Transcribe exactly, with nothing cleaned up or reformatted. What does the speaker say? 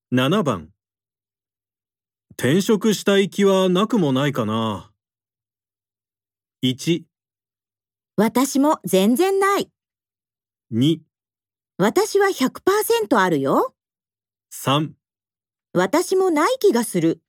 ななばん。転職したい気はなくもないかな。いち、 私も全然ない。 に、 私はひゃくパーセントあるよ。 さん。 私もない気がする。